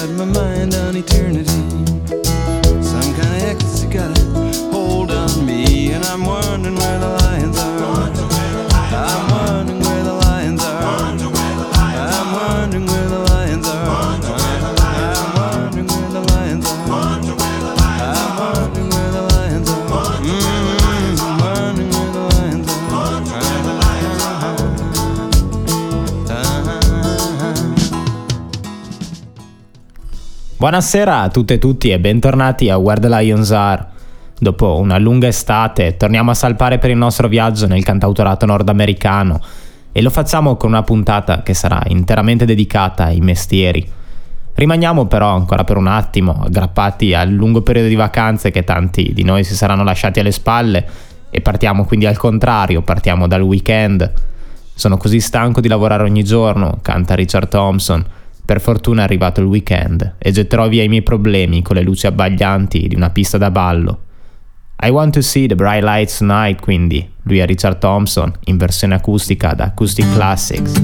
got my mind on eternity. Some kind of ecstasy got a hold on me, and I'm wondering where the lions are. I'm wondering where the lions are. I'm wondering where the lions are. I'm wondering where the lions are. I'm wondering where the lions are. I'm wondering where the lions are. Buonasera a tutte e tutti e bentornati a Where the Lions Are. Dopo una lunga estate torniamo a salpare per il nostro viaggio nel cantautorato nordamericano e lo facciamo con una puntata che sarà interamente dedicata ai mestieri. Rimaniamo però ancora per un attimo aggrappati al lungo periodo di vacanze che tanti di noi si saranno lasciati alle spalle e partiamo quindi al contrario, partiamo dal weekend. Sono così stanco di lavorare ogni giorno, canta Richard Thompson. Per fortuna è arrivato il weekend e getterò via i miei problemi con le luci abbaglianti di una pista da ballo. I want to see the bright lights tonight, quindi lui è Richard Thompson in versione acustica da Acoustic Classics.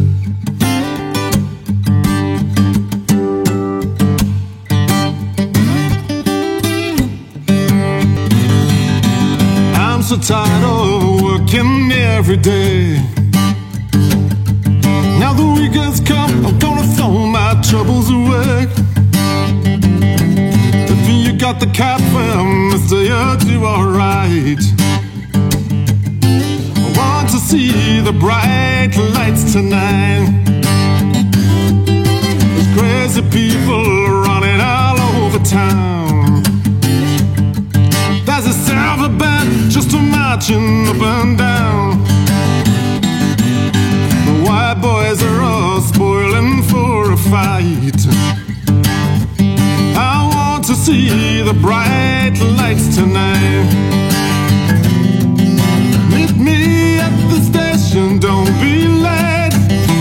I'm so tired of working every day. Now the weekend's come, I'm gonna throw my troubles away. If you got the cap, well, mister, you'll do alright. I want to see the bright lights tonight. There's crazy people running all over town. There's a silver band just marching up and down. The white boys are all spoiling for a fight. I want to see the bright lights tonight. Meet me at the station, don't be late.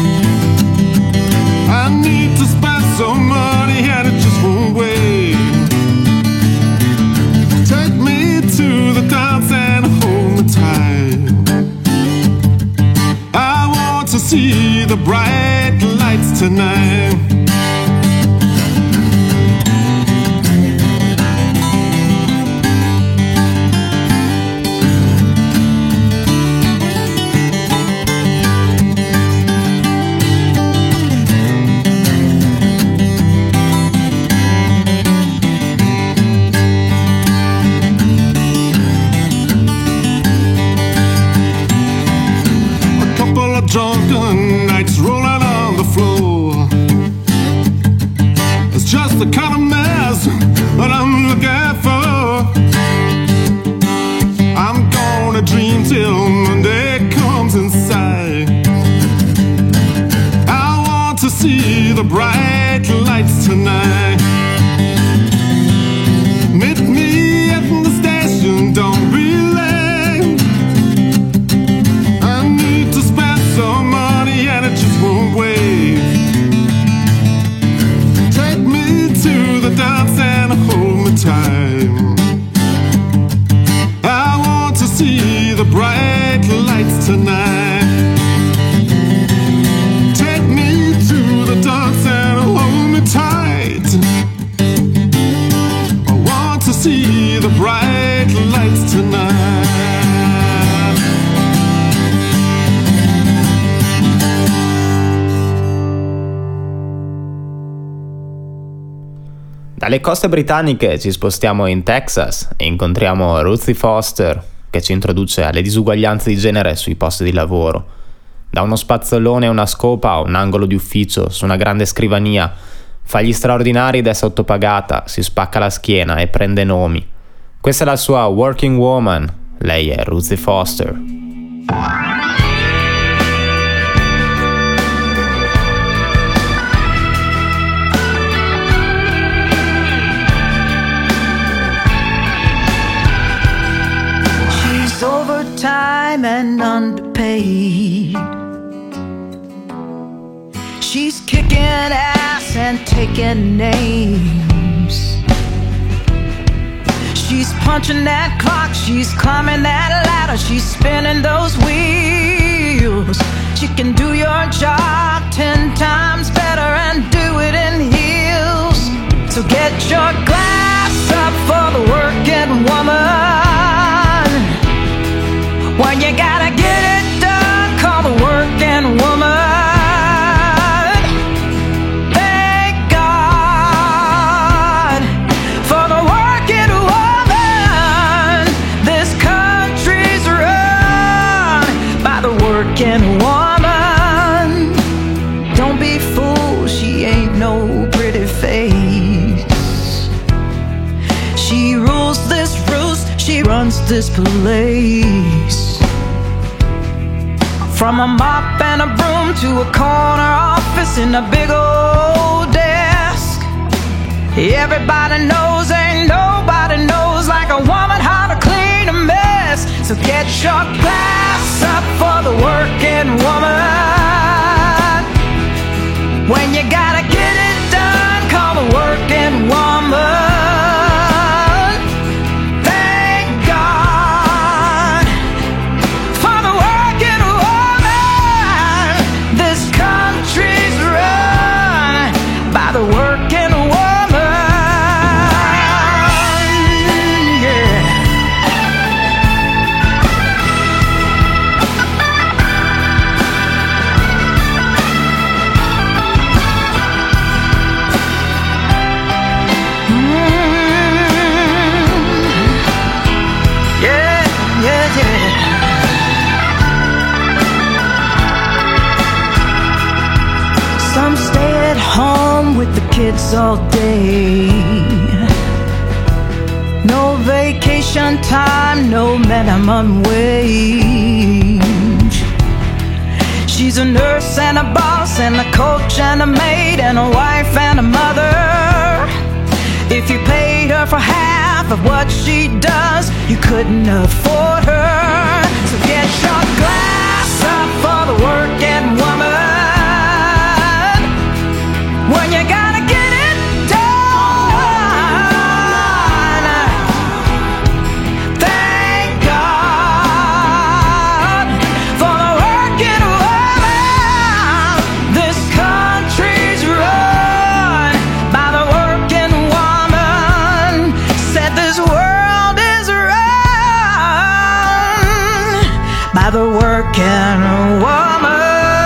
I need to spend some money and it just won't wait. Take me to the dance and hold me tight. I want to see the bright lights tonight. Drunken nights rolling on the floor. It's just the kind of mess that I'm looking for. I'm gonna dream till Monday comes inside. I want to see the bright lights tonight. Meet me at the station, don't be late. Some money and it just won't wait. Take me to the dance and hold me tight. I want to see the bright lights tonight. Take me to the dance and hold me tight. I want to see the bright lights tonight. Dalle coste britanniche ci spostiamo in Texas e incontriamo Ruthie Foster, che ci introduce alle disuguaglianze di genere sui posti di lavoro. Da uno spazzolone a una scopa a un angolo di ufficio su una grande scrivania, fa gli straordinari ed è sottopagata, si spacca la schiena e prende nomi. Questa è la sua Working Woman, lei è Ruthie Foster. Overtime and underpaid. She's kicking ass and taking names. She's punching that clock, she's climbing that ladder, she's spinning those wheels. She can do your job 10 times better and do it in heels. your glass up for the working woman. When you gotta get it done, call the working woman. Thank God for the working woman. This country's run by the working woman. Don't be fooled, she ain't no pretty face. She rules this roost, she runs this place. From a mop and a broom to a corner office in a big old desk. Everybody knows, ain't nobody knows like a woman how to clean a mess. So get your glass up for the working woman. When you gotta get it done, call the working woman. Thank God for the working woman. This country's run by the working woman. Yeah. Yeah, yeah, yeah. Some stay at home with the kids all day. No vacation time, no minimum wage. She's a nurse and a boss and a coach and a maid and a wife and a mother. If you paid her for half of what she does, you couldn't afford her. So get your glass up for the working woman. When you gotta get it done, thank God for the working woman. This country's run by the working woman. Said this world is run by the working woman.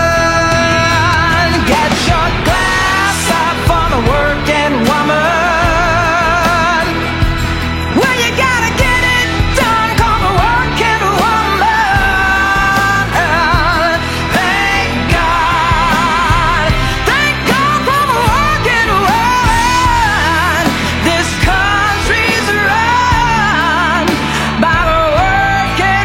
Get your glass up for the working woman. When you gotta get it done, call the working woman. Thank God for the working woman. This country's run by the working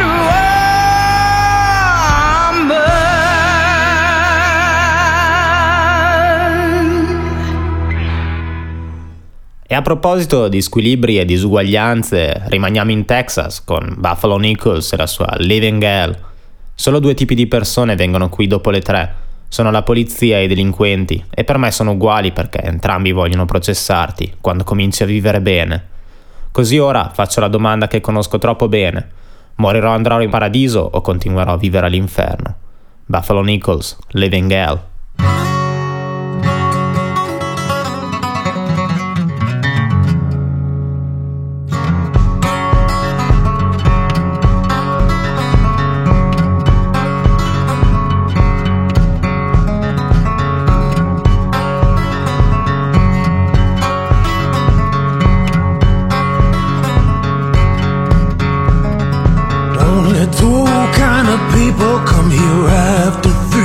woman. E a proposito di squilibri e disuguaglianze, rimaniamo in Texas con Buffalo Nichols e la sua Living Hell. Solo due tipi di persone vengono qui dopo le 3. Sono la polizia e i delinquenti, e per me sono uguali perché entrambi vogliono processarti quando cominci a vivere bene. Così ora faccio la domanda che conosco troppo bene: morirò e andrò in paradiso o continuerò a vivere all'inferno? Buffalo Nichols, Living Hell. Only two kind of people come here after 3.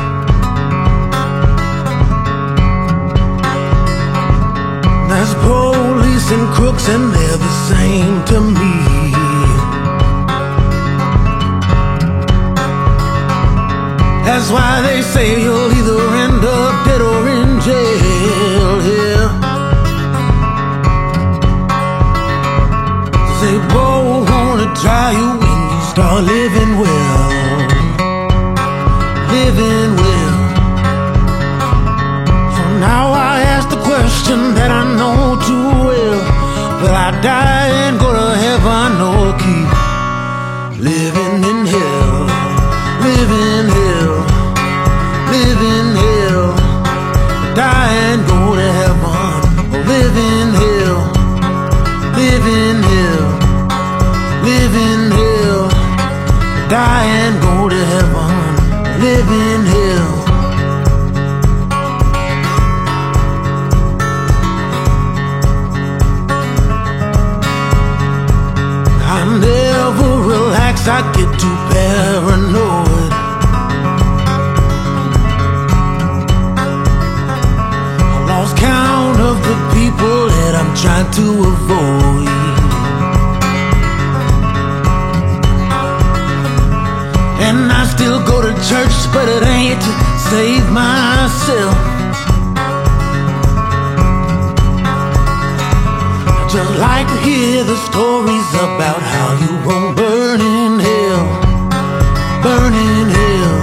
That's police and crooks, and they're the same to me. That's why they say you'll either end up dead or in jail here. They both wanna try you when you start living well. Living well. So now I ask the question that I know too well: will I die and go to heaven or keep living in hell? Living hell. Living hell. Die and go to heaven or live in hell. I get too paranoid. I lost count of the people that I'm trying to avoid. And I still go to church, but it ain't to save myself. I just like to hear the stories about how you won't burn in hell, burn in hell.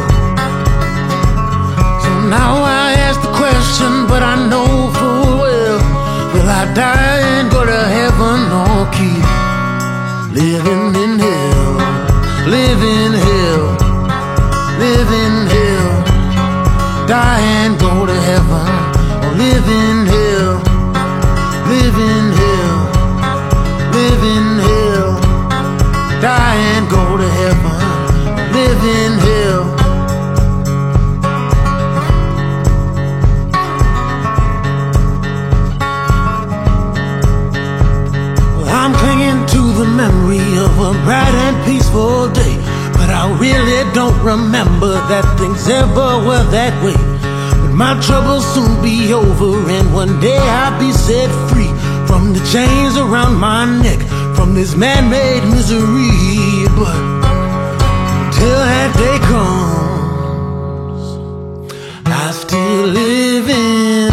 So now I ask the question, but I know full well, will I die and go to heaven or keep living in hell, live in hell, live in hell, die and go to heaven, or live in hell, live in hell, live in hell, die and go to heaven, live in hell. Well, I'm clinging to the memory of a bright and peaceful day, but I really don't remember that things ever were that way. But my troubles soon be over, and one day I'll be set free from the chains around my neck, from this man-made misery. But till that day comes, I still live in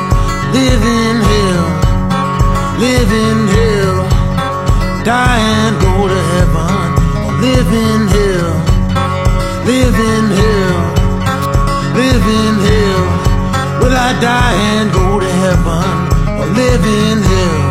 hell, live in hell, die and go to heaven, live in hell, live in hell, live in hell. Will I die and go to heaven, or live in hell?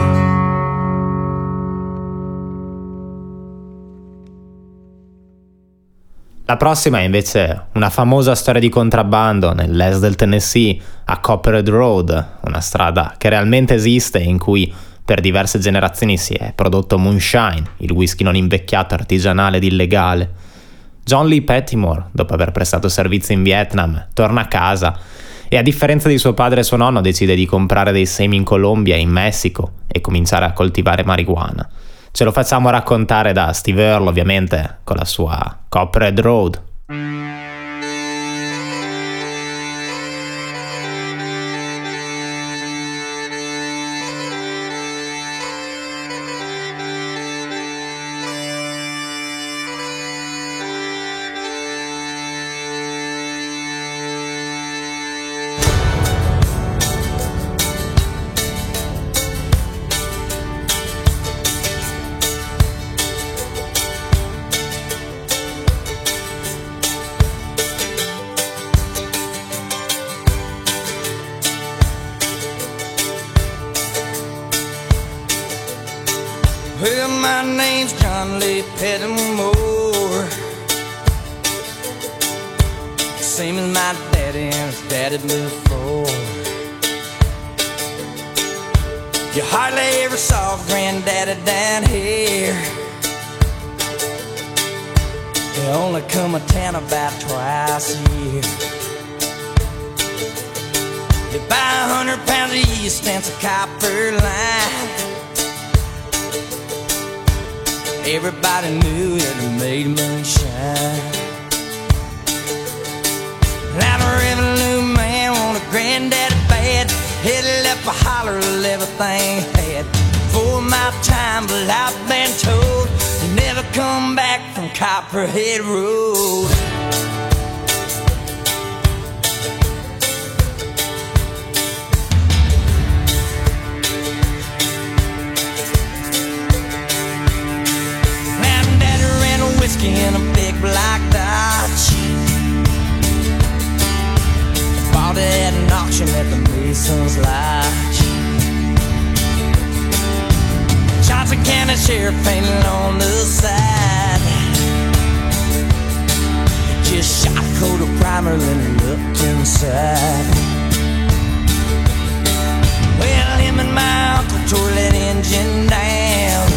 La prossima è invece una famosa storia di contrabbando nell'est del Tennessee, a Copperhead Road, una strada che realmente esiste e in cui per diverse generazioni si è prodotto moonshine, il whisky non invecchiato artigianale ed illegale. John Lee Pettimore, dopo aver prestato servizio in Vietnam, torna a casa e a differenza di suo padre e suo nonno decide di comprare dei semi in Colombia e in Messico e cominciare a coltivare marijuana. Ce lo facciamo raccontare da Steve Earle, ovviamente, con la sua Copperhead Road. Well, my name's John Lee Pettimore, same as my daddy and his daddy before. You hardly ever saw Granddaddy down here. He only come to town about twice a year. You buy 100 pounds of yeast and some copper line. Everybody knew that it made moonshine. Now the revenue man wanted Granddaddy bad. He left a holler of everything he had. For my time, but I've been told he never come back from Copperhead Road. Whiskey in a big black Dodge. Bought it at an auction at the Mason's Lodge. Johnson County Sheriff painted on the side. Just shot a coat of primer, then looked inside. Well, him and my uncle tore that engine down.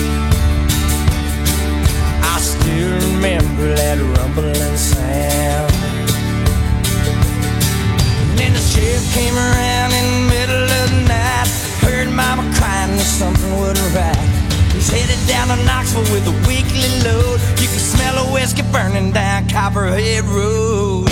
I still remember that rumbling sound. And then the sheriff came around in the middle of the night. Heard mama crying that something wasn't right. He's headed down down to Knoxville with a weekly load. You can smell a whiskey burning down Copperhead Road.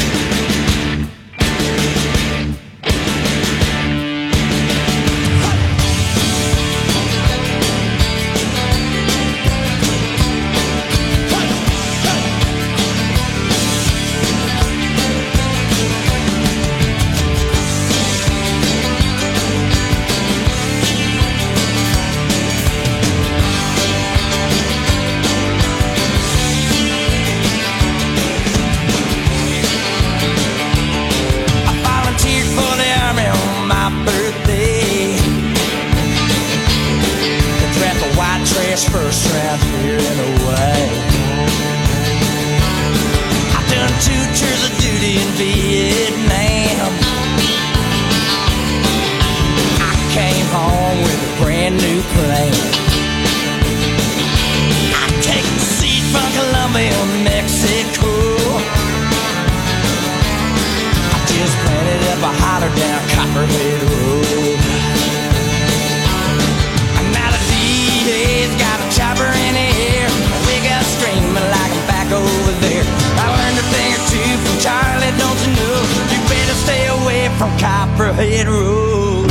First round here and away. I've done 2 tours of duty in Vietnam. I came home with a brand new plane. I take the seat from Colombia, Mexico. I just planted up a holler down Copperhead Road. Got a chopper in the air, we got screaming like I'm back over there. I learned a thing or two from Charlie, don't you know? You better stay away from Copperhead Road.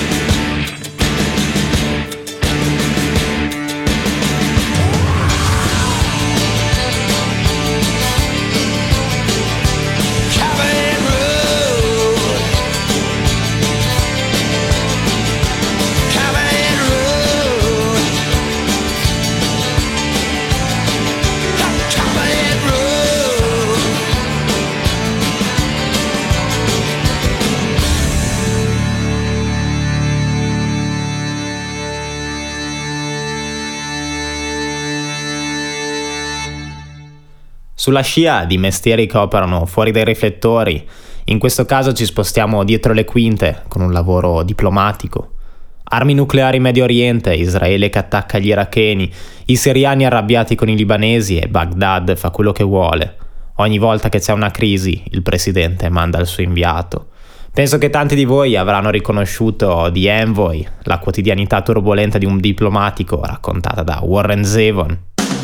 Copperhead Road. Copperhead Road. Copperhead Road. Sulla scia di mestieri che operano fuori dai riflettori, in questo caso ci spostiamo dietro le quinte con un lavoro diplomatico. Armi nucleari in Medio Oriente, Israele che attacca gli iracheni, i siriani arrabbiati con i libanesi e Baghdad fa quello che vuole. Ogni volta che c'è una crisi, il presidente manda il suo inviato. Penso che tanti di voi avranno riconosciuto The Envoy, la quotidianità turbolenta di un diplomatico raccontata da Warren Zevon.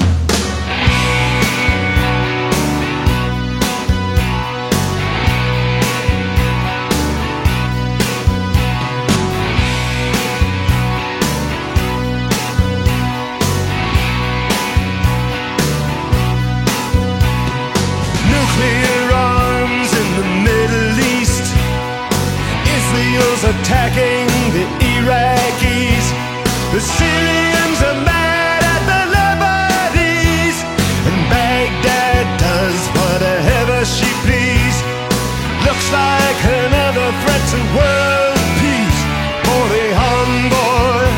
Attacking the Iraqis, the Syrians are mad at the Lebanese, and Baghdad does whatever she please. Looks like another threat to world peace for the envoy.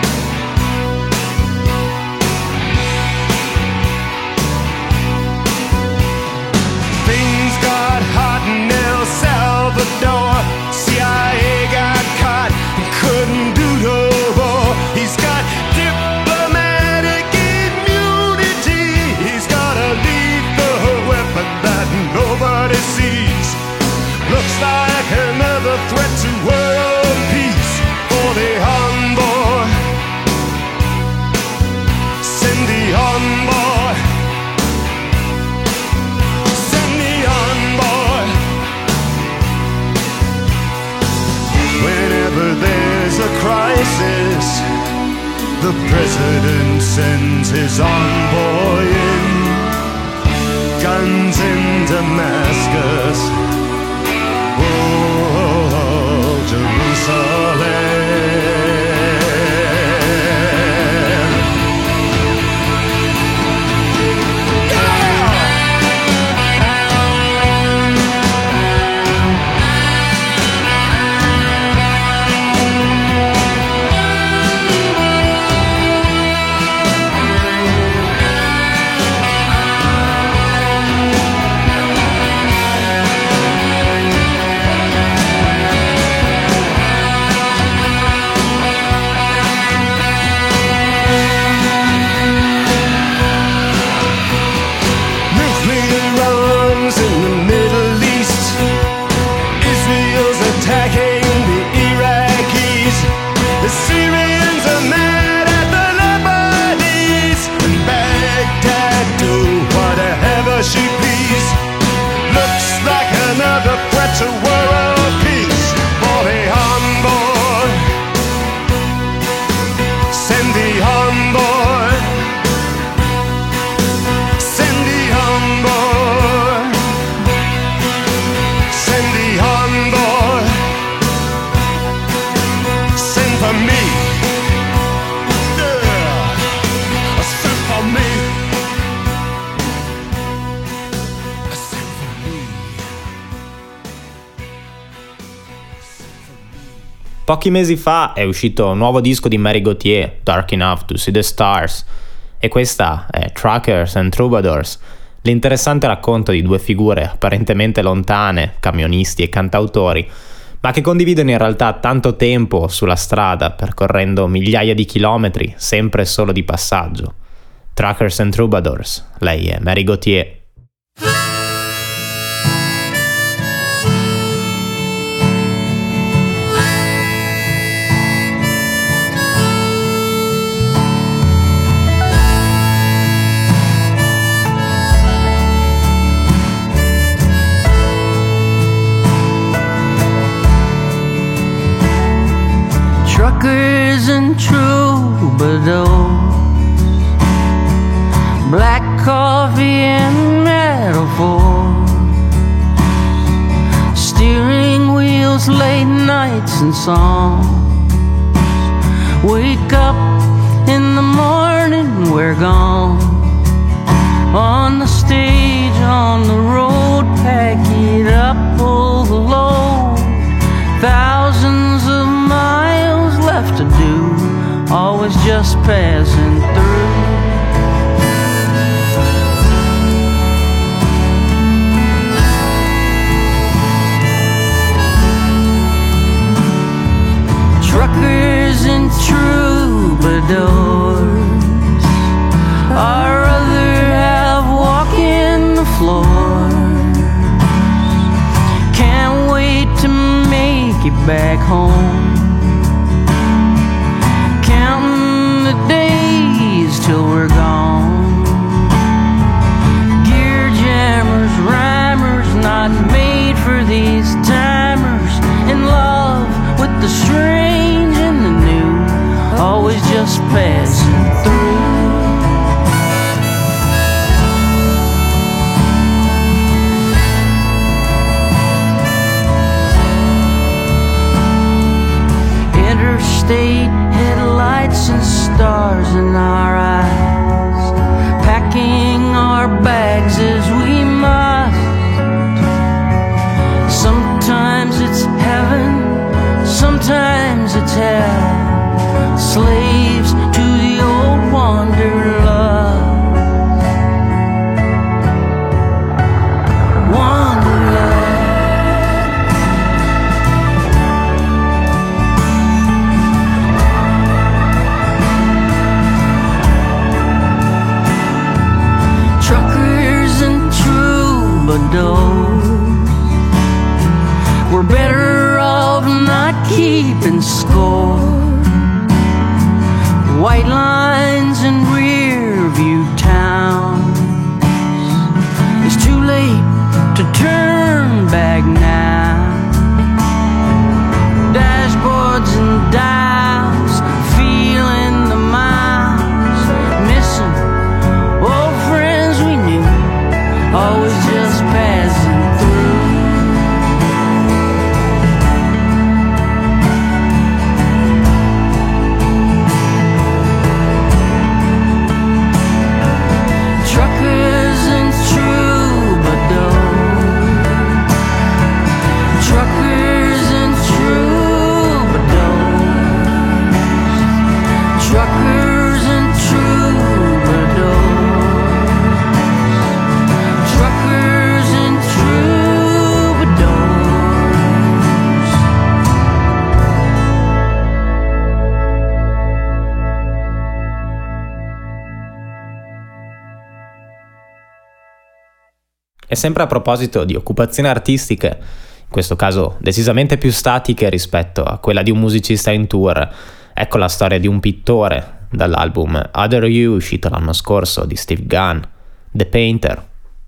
Things got hot in El Salvador. CIA got caught and couldn't do no more. He's got diplomatic immunity. He's got a lethal weapon that nobody sees. Looks like another threat to world peace for the envoy. Send the envoy. Send the envoy. Whenever there's a crisis, the president sends his envoy in. Guns in Damascus, oh, Jerusalem. Pochi mesi fa è uscito un nuovo disco di Mary Gauthier, Dark Enough to See the Stars, e questa è Truckers and Troubadours, l'interessante racconto di due figure apparentemente lontane, camionisti e cantautori, ma che condividono in realtà tanto tempo sulla strada, percorrendo migliaia di chilometri, sempre solo di passaggio. Truckers and Troubadours, lei è Mary Gauthier. Truckers and troubadours, black coffee and metaphors, steering wheels, late nights and songs. Wake up in the morning, we're gone. On the stage, on the road, pack it up, pull the load. Thousands of miles left to do, always just passing through. Truckers and troubadours, our other half walking the floor. Can't wait to make it back home. Counting the days till we're gone. Gear jammers, rhymers, not made for these timers. In love with the strange and the new, always just passing through. Interstate headlights and stars in our eyes, packing our bags as we must. Sometimes it's heaven, sometimes it's hell, slaves to the old wanderlust. Wanderlust. Truckers and troubadours, we're better off not keeping score. White lines and rear view towns, it's too late to turn back now. Dashboards and dials, feeling the miles, missing old friends we knew, always just passing through. Truckers and troubadours, truckers and troubadours, truckers and troubadours, truckers and troubadours. E sempre a proposito di occupazioni artistiche, in questo caso decisamente più statiche rispetto a quella di un musicista in tour, ecco la storia di un pittore dall'album Other You uscito l'anno scorso di Steve Gunn, The Painter.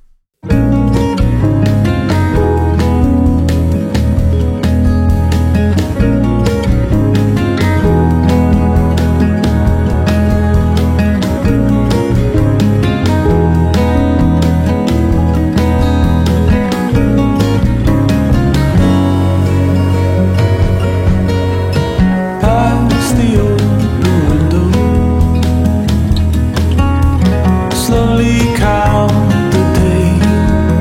Past the open window, slowly count the days.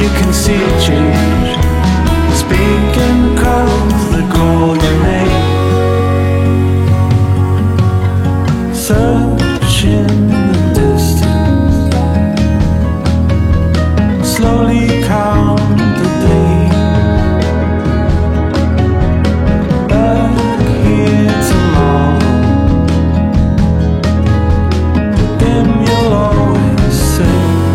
can see change. Speaking of the golden age, searching the distance, slowly count the days. Back here tomorrow, then you'll always say.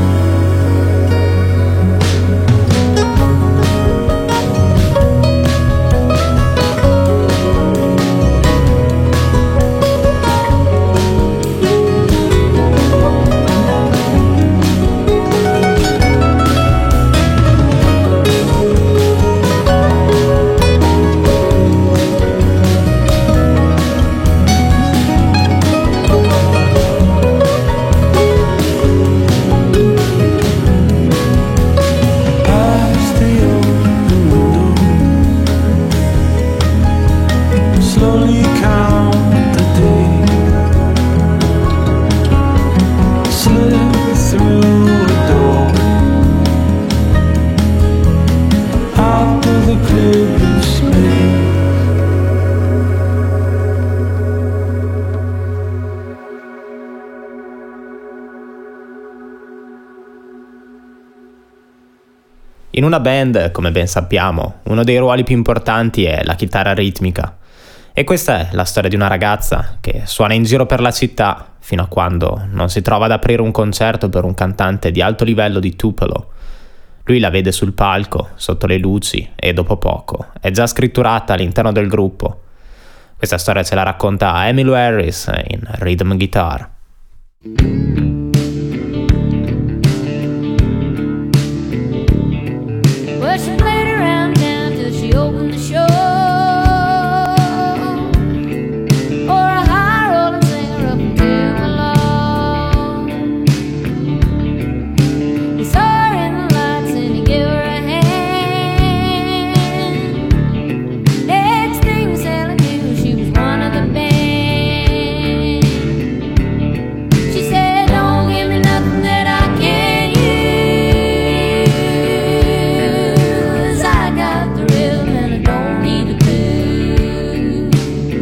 Past the open window, slowly count the days. Slip through a doorway, out of the clear blue space. In una band, come ben sappiamo, uno dei ruoli più importanti è la chitarra ritmica. E questa è la storia di una ragazza che suona in giro per la città fino a quando non si trova ad aprire un concerto per un cantante di alto livello di Tupelo. Lui la vede sul palco, sotto le luci, e dopo poco è già scritturata all'interno del gruppo. Questa storia ce la racconta Emmylou Harris in Rhythm Guitar. Well, she played around town till she opened the show for a high rolling singer up in Tupelo. He saw her in the lights and he gave her a hand. Next thing Sally knew, she was one of the band. She said, "Don't give me nothing that I can't use. I got the rhythm and I don't need the blues.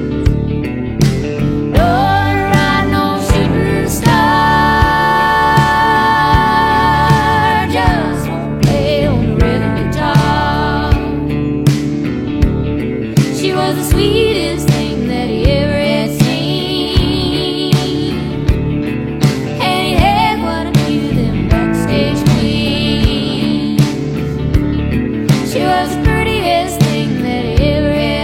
Don't ride no shooting star, just won't play on the rhythm guitar." She was the sweetest thing that he ever had seen, and he had quite a few of them backstage queens. She was the prettiest thing that he ever had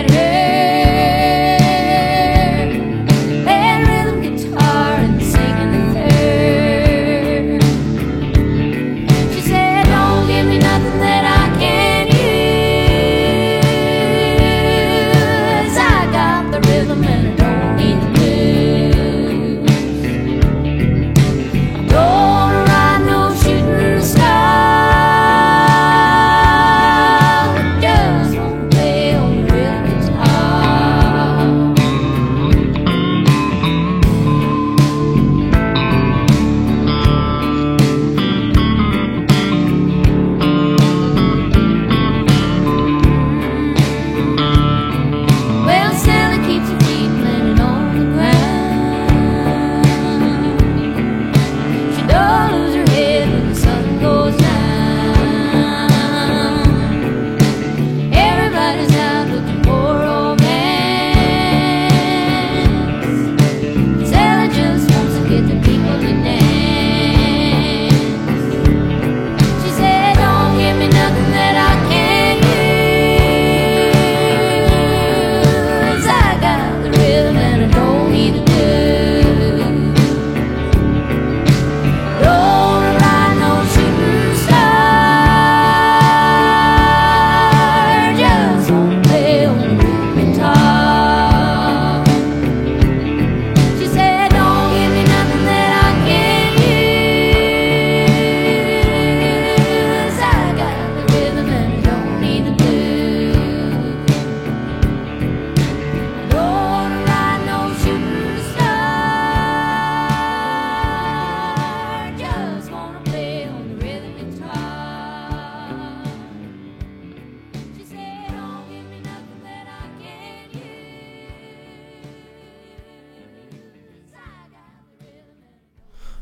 heard, playing rhythm guitar and singing the third. She said, "Don't give me nothing that I can't use. I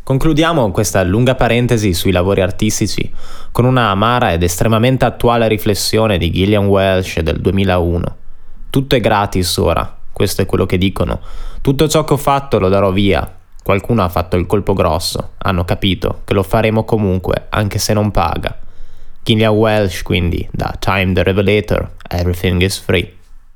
Concludiamo questa lunga parentesi sui lavori artistici con una amara ed estremamente attuale riflessione di Gillian Welch del 2001. Tutto è gratis ora, questo è quello che dicono. Tutto ciò che ho fatto lo darò via. Qualcuno ha fatto il colpo grosso, hanno capito che lo faremo comunque, anche se non paga. Gillian Welch, quindi, da Time the Revelator, Everything is Free.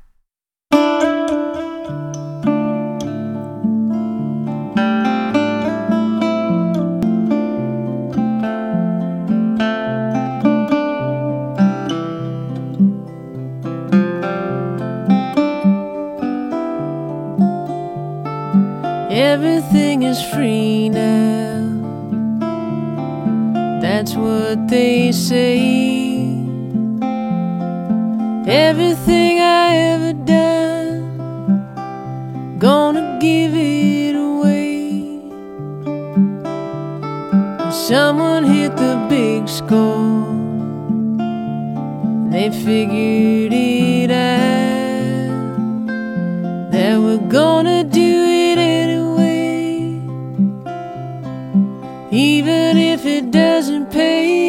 Everything is free now. That's what they say. Everything I ever done, gonna give it away. Someone hit the big score. They figured it out, that we're gonna do it anyway, even if it doesn't pay.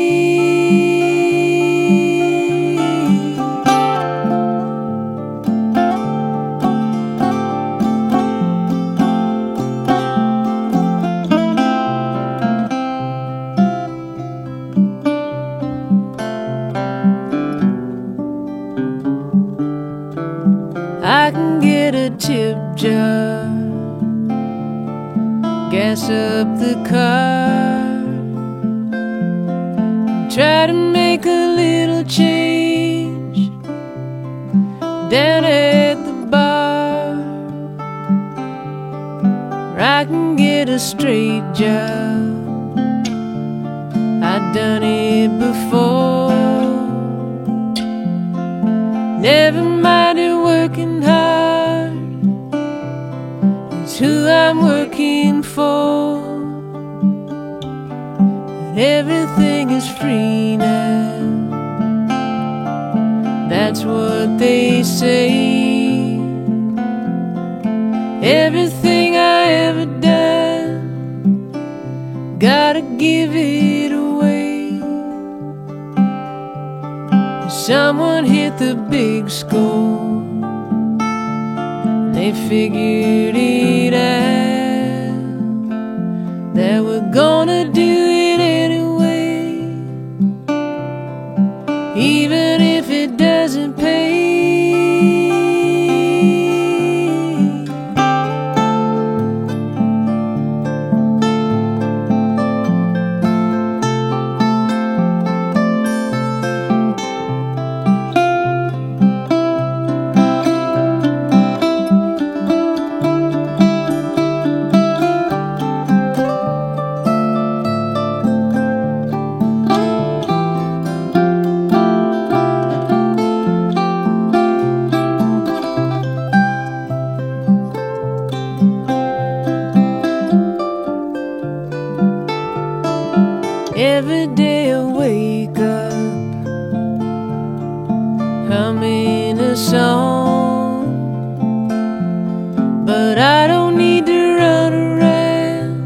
I can get a tip jar, gas up the car, try to make a little change down at the bar. I can get a straight job, I've done it before. Never minded working hard, it's who I'm working for. But everything is free now, that's what they say. Everything I ever done, gotta give it away. Someone hit the big score, they figured it out, that we're gonna do it anyway, even if it doesn't pay. Every day I wake up humming a song, but I don't need to run around,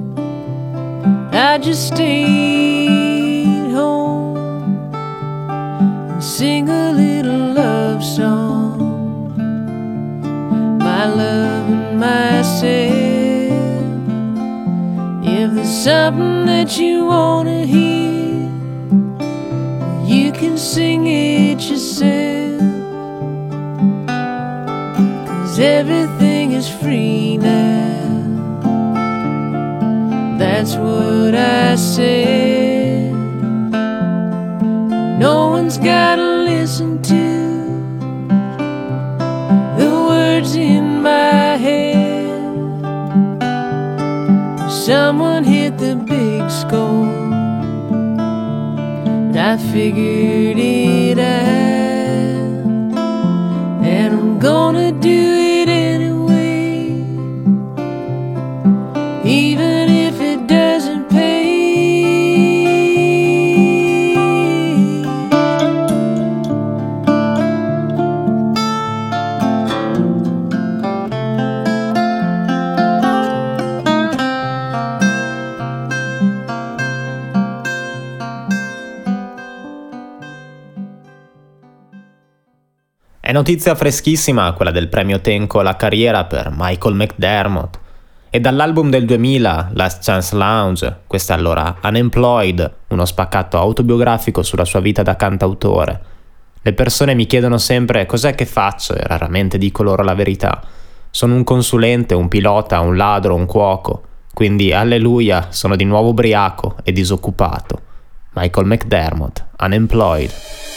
I just stay home and sing a little love song, my love and myself. If there's something that you wanna hear, you can sing it yourself, 'cause everything is free now, that's what I said. No one's gotta listen to the words in my head. Someone hit the big score, but I figured it out, and I'm gonna do it anyway, even if it doesn't pay. È notizia freschissima quella del premio Tenco alla carriera per Michael McDermott. E dall'album del 2000, Last Chance Lounge, questa allora Unemployed, uno spaccato autobiografico sulla sua vita da cantautore. Le persone mi chiedono sempre cos'è che faccio e raramente dico loro la verità. Sono un consulente, un pilota, un ladro, un cuoco. Quindi, alleluia, sono di nuovo ubriaco e disoccupato. Michael McDermott, Unemployed.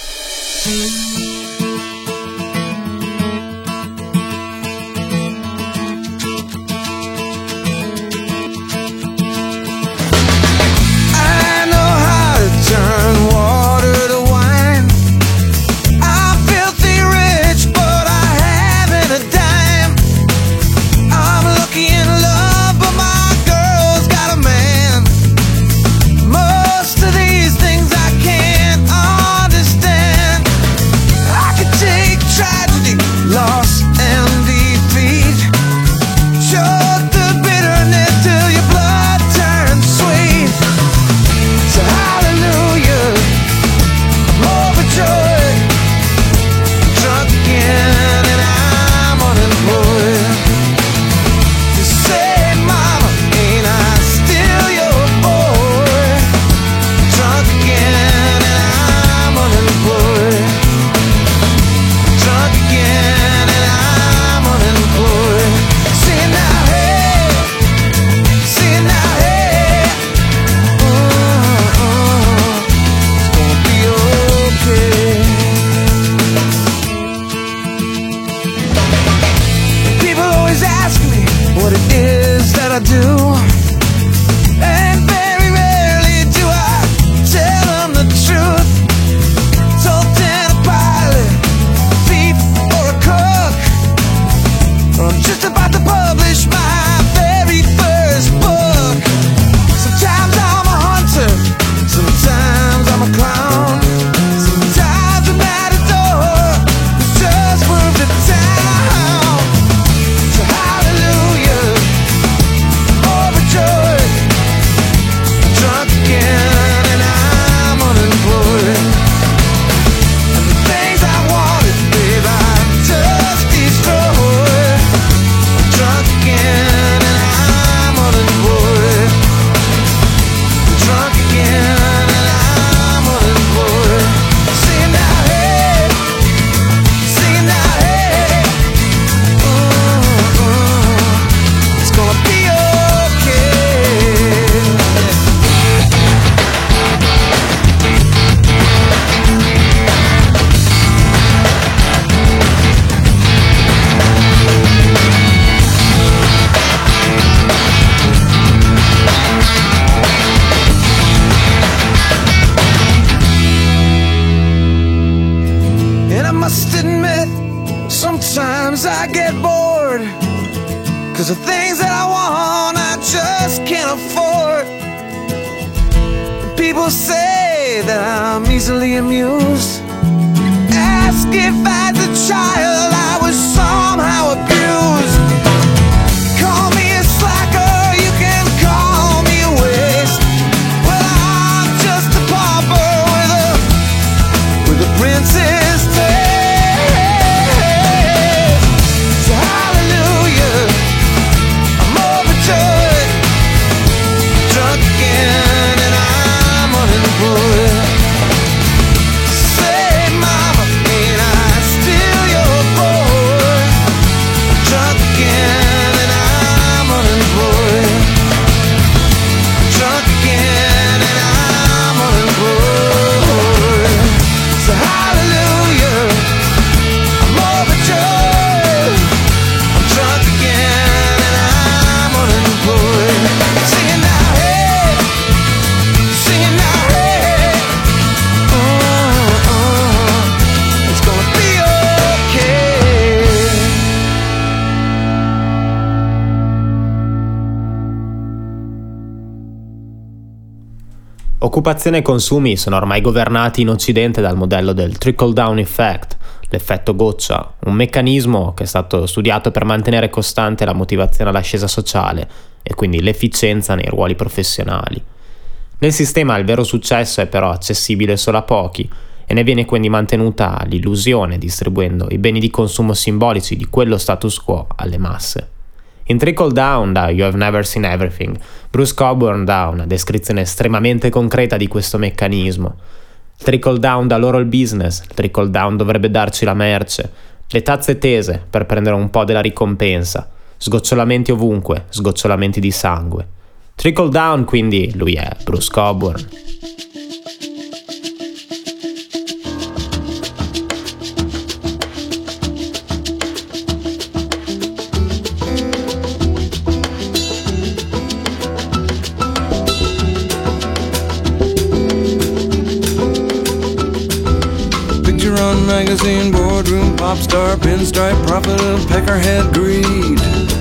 Sometimes I get bored, 'cause the things that I want I just can't afford. People say that I'm easily amused. Ask if as a child I was somehow abused. Call me a slacker, you can call me a waste. Well, I'm just a pauper with a princess taste. Occupazione e consumi sono ormai governati in Occidente dal modello del trickle-down effect, l'effetto goccia, un meccanismo che è stato studiato per mantenere costante la motivazione all'ascesa sociale e quindi l'efficienza nei ruoli professionali. Nel sistema il vero successo è però accessibile solo a pochi e e ne viene quindi mantenuta l'illusione distribuendo i beni di consumo simbolici di quello status quo alle masse. In Trickle Down da You Have Never Seen Everything, Bruce Cockburn dà una descrizione estremamente concreta di questo meccanismo. Il trickle down dà loro il business, il trickle down dovrebbe darci la merce, le tazze tese per prendere un po' della ricompensa, sgocciolamenti ovunque, sgocciolamenti di sangue. Trickle down, quindi lui è Bruce Cockburn. Run magazine, boardroom, pop star, pinstripe, prophet of peckerhead greed.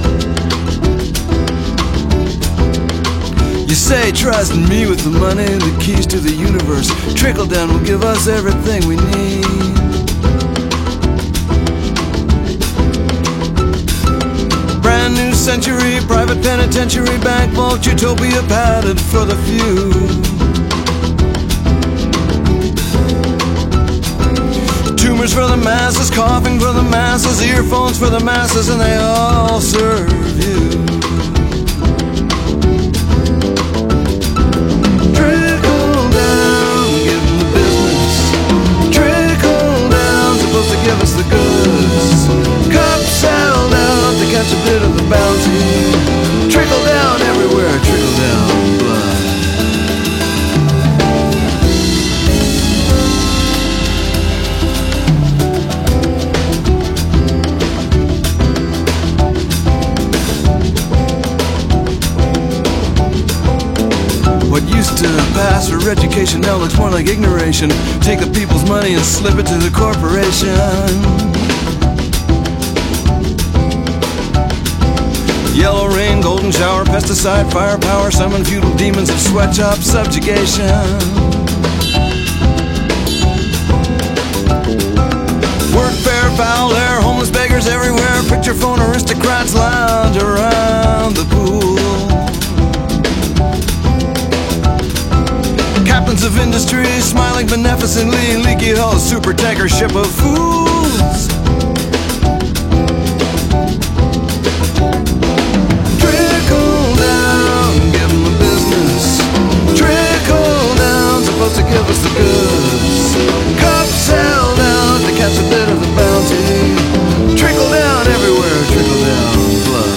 You say trust in me with the money, the keys to the universe. Trickle down will give us everything we need. Brand new century, private penitentiary, bank vault, utopia padded for the few. Tumors for the masses, coughing for the masses, earphones for the masses, and they all serve you. Trickle down, give them the business. Trickle down, supposed to give us the goods. Cups held out to catch a bit of the bounty. Trickle down everywhere, trickle down blood. What used to pass for education now looks more like ignoration. Take the people's money and slip it to the corporation. Yellow rain, golden shower, pesticide, firepower, summon feudal demons of sweatshop subjugation. Work fair, foul air, homeless beggars everywhere. Picture phone aristocrats lounge around the pool. Captains of industry smiling beneficently, leaky hull super tanker ship of fools. Trickle down, give them the business. Trickle down, supposed to give us the goods. Cups held out to catch a bit of the bounty. Trickle down everywhere, trickle down blood.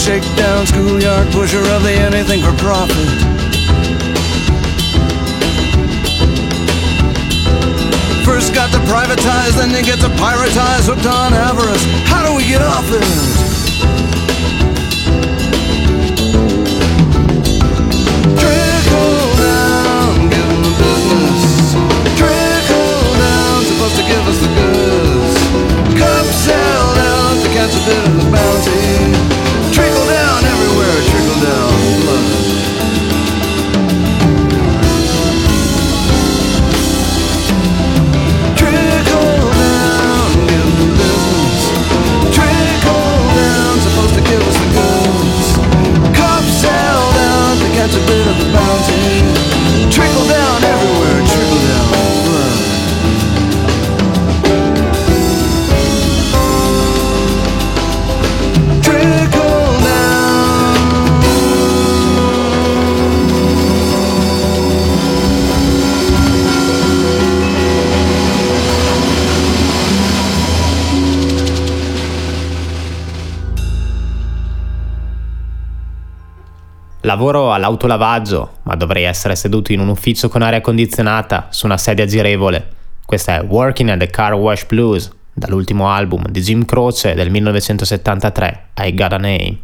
shakedown, schoolyard pusher of the anything for profit. First got to privatize, then you get to piratize, hooked on avarice. How do we get off it? Trickle down, give them the business. Trickle down, supposed to give us the goods. Cups held out to catch a bit of the bounty. Trickle down everywhere, trickle down blood. Trickle down, give them the business. Trickle down, supposed to give us the goods. Cups held out to catch a bit of the bounty. Trickle down everywhere, trickle down blood. Trickle down. Lavoro all'autolavaggio, ma dovrei essere seduto in un ufficio con aria condizionata su una sedia girevole. Questa è Working at the Car Wash Blues, dall'ultimo album di Jim Croce del 1973, I Got a Name.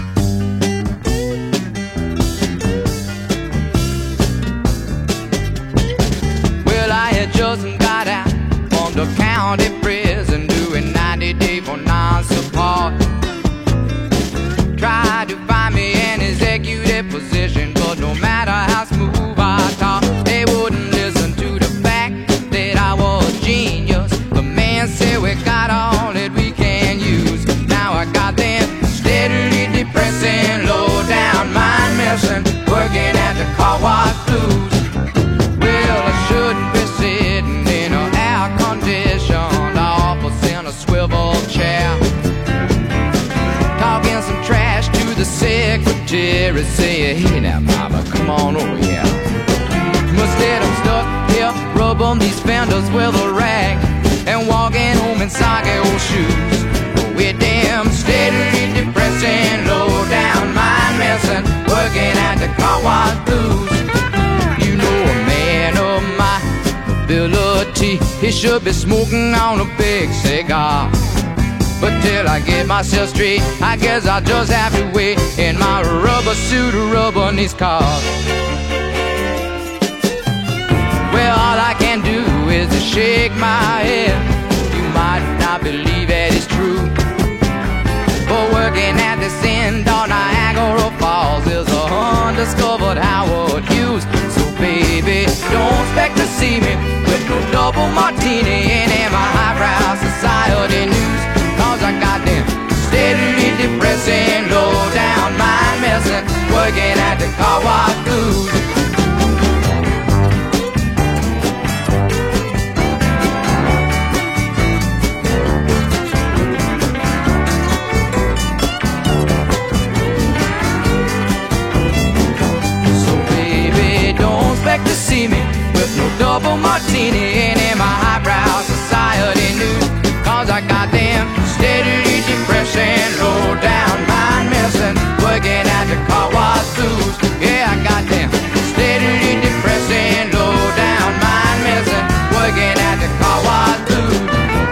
Well, I had just got out from the county prison doing 90 days for non-support. Tried to find me an executive position, but no matter how smooth I talk, they wouldn't listen to the fact that I was a genius. The man said we got all that we can use. Now I got them steadily depressing, low down mind messing, working at the car wash blues. Well, I shouldn't be sitting in an air-conditioned office in a swivel chair, talking some trash to the secretary, saying, hey now mama, come on over here. Instead I'm stuck here, rubbing these fenders with a rag and walking home in soggy old shoes. With them steadily depressing, low down mind messing, working at the car wash blues. You know a man of my ability, he should be smoking on a big cigar. But till I get myself straight, I guess I'll just have to wait in my rubber suit, rubbing these cars. Well, all I can do is to shake my head. You might not believe that it's true, but working at this end on Niagara Falls is a undiscovered Howard Hughes. So baby, don't expect to see me with no double martini and in my highbrow society news. Cause I got them steadily depressing, low down mind messing, working at the car wash blues. So baby, don't expect to see me with no double martini and in my highbrow society news. Cause I got them steadily depressing, low down mind messing, working at the car wash blues. Yeah, I got them steadily depressing, low down mind messing, working at the car wash blues.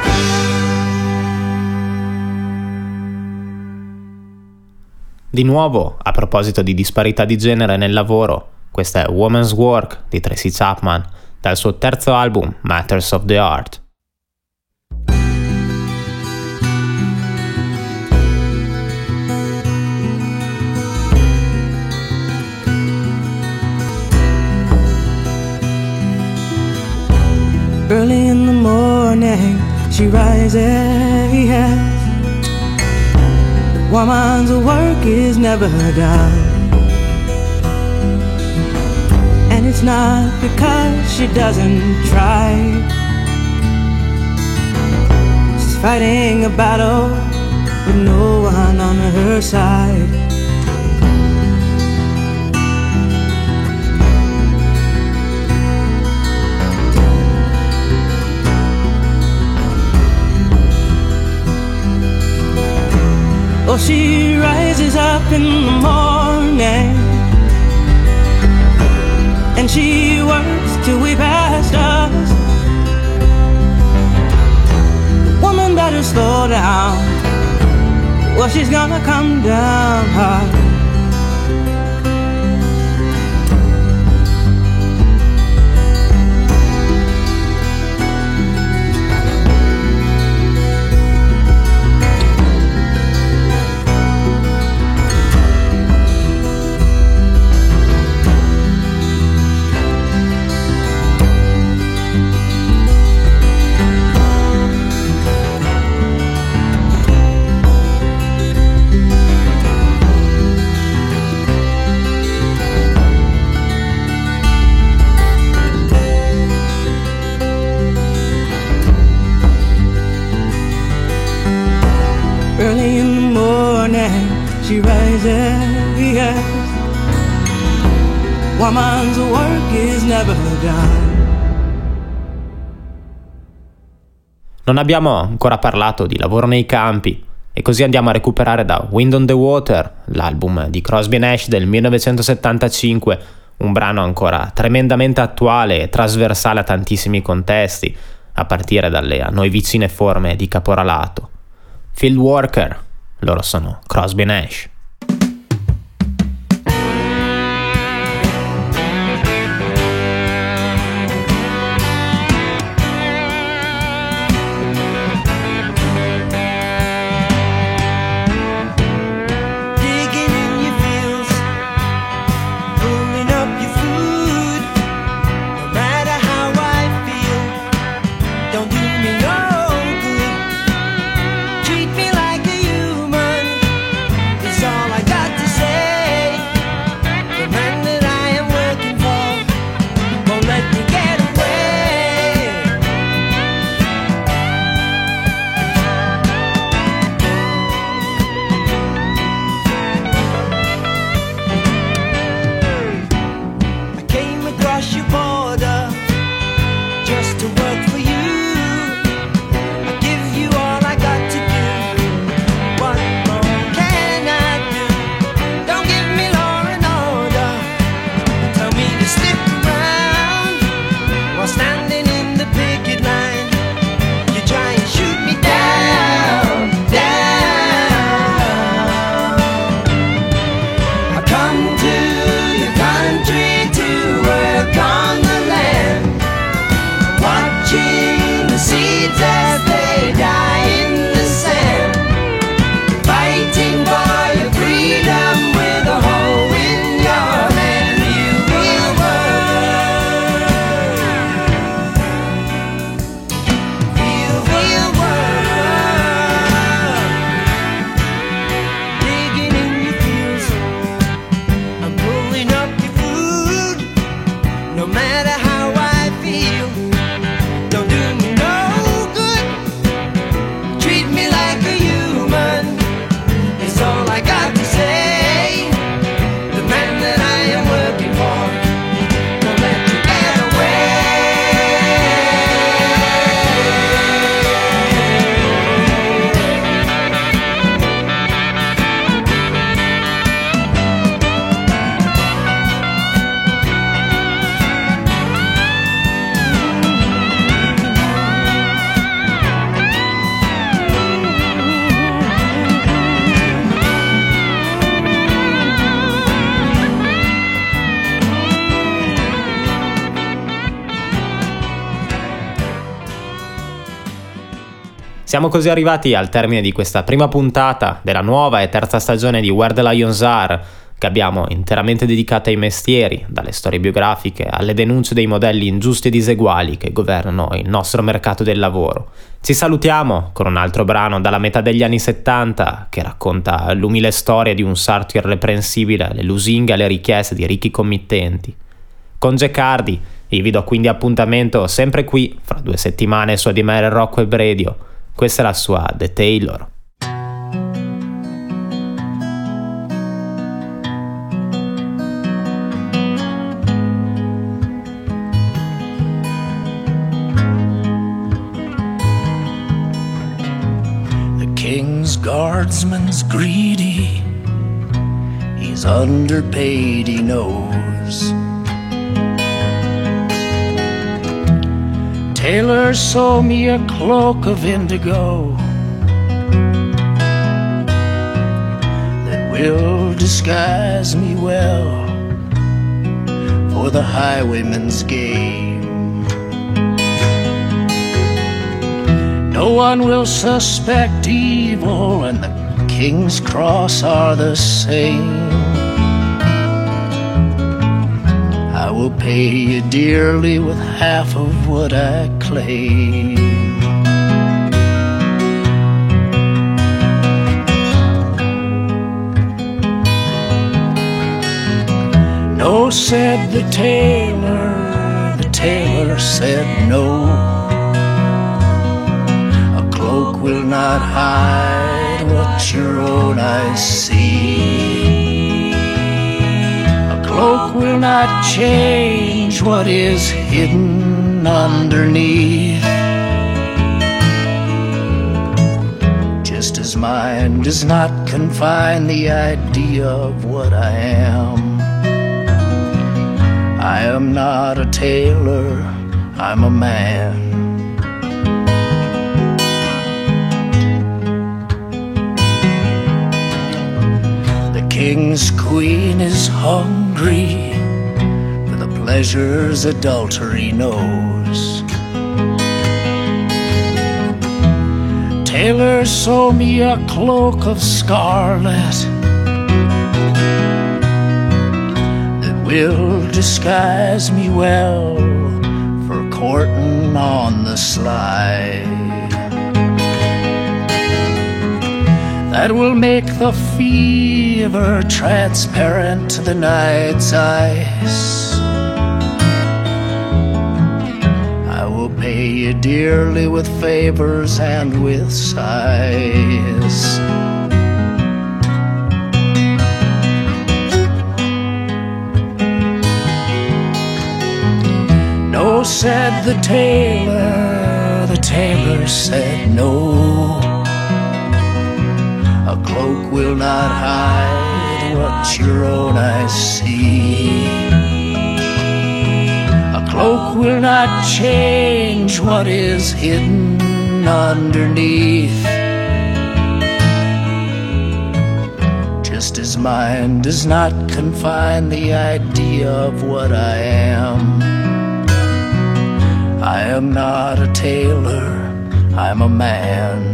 Di nuovo, a proposito di disparità di genere nel lavoro, questa è Woman's Work di Tracy Chapman, dal suo terzo album Matters of the Heart. Early in the morning, she rises, yes. Woman's work is never done, and it's not because she doesn't try. She's fighting a battle with no one on her side. Oh, she rises rises up in the morning and she works till we pass us. Woman better slow down, well she's gonna come down hard. Early in the morning she rises, yes. Woman's work is never done. Non abbiamo ancora parlato di lavoro nei campi e così andiamo a recuperare da Wind on the Water, l'album di Crosby & Nash del 1975, un brano ancora tremendamente attuale e trasversale a tantissimi contesti, a partire dalle a noi vicine forme di caporalato. Field Worker, loro sono Crosby & Nash. Digging in your fields, pulling up your food. No matter how I feel, don't do me no good. Treat me like a human, is all I got to say. The man that I am working for won't let me get away. I came across your border just to work for you. I give you all I got to do. What more can I do? Don't give me law and order. Tell me to stick around while standing in the picket line. You try and shoot me down, down. I come to the country to work on the land, watching the seeds as they die in the sand, fighting for your freedom with a hoe in your hand. You will work, you will work, digging in your fields, I'm pulling up your food. No matter how I feel, don't do me no good. Treat me like a human, it's all I got to say. The man that I am working for won't let you get away. Siamo così arrivati al termine di questa prima puntata della nuova e terza stagione di Where the Lions Are, che abbiamo interamente dedicata ai mestieri, dalle storie biografiche alle denunce dei modelli ingiusti e diseguali che governano il nostro mercato del lavoro. Ci salutiamo con un altro brano dalla metà degli anni 70 che racconta l'umile storia di un sarto irreprensibile alle lusinghe e alle richieste di ricchi committenti. Con Jack Hardy vi do quindi appuntamento sempre qui fra 2 settimane su ADMR Rock Web Radio. Questa è la sua The Taylor. The king's guardsman's greedy, underpaid, he knows. Tailor sew me a cloak of indigo that will disguise me well for the highwayman's game. No one will suspect evil, and the King's Cross are the same. I will pay you dearly with half of what I claim. No, said the tailor said no. A cloak will not hide what your own eyes see. A cloak will not change what is hidden underneath. Just as mine does not confine the idea of what I am. I am not a tailor, I'm a man. The king's queen is hungry for the pleasures adultery knows. Tailor, sew me a cloak of scarlet will disguise me well for courting on the sly. That will make the fever transparent to the night's ice. I will pay you dearly with favors and with sighs. No, said the tailor said no. A cloak will not hide what your own eyes see. A cloak will not change what is hidden underneath. Just as mine does not confine the idea of what I am. I am not a tailor, I'm a man.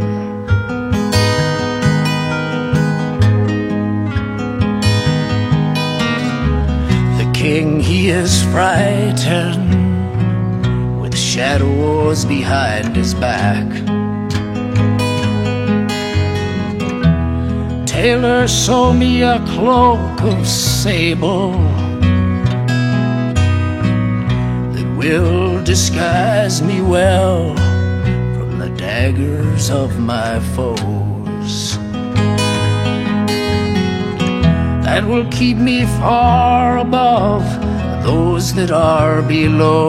The king, he is frightened with shadows behind his back. Tailor, sew me a cloak of sable will disguise me well from the daggers of my foes. That will keep me far above those that are below.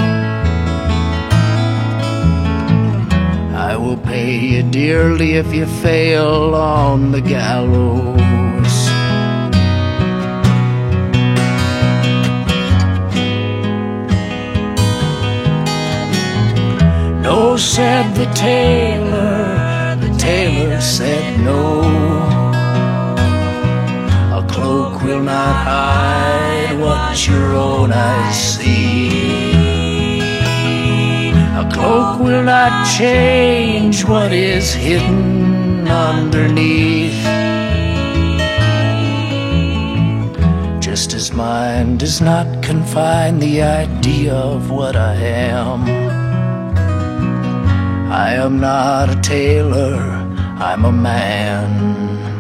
I will pay you dearly if you fail on the gallows. No, said the tailor said no. A cloak will not hide what your own eyes see. A cloak will not change what is hidden underneath. Just as mine does not confine the idea of what I am. I am not a tailor, I'm a man.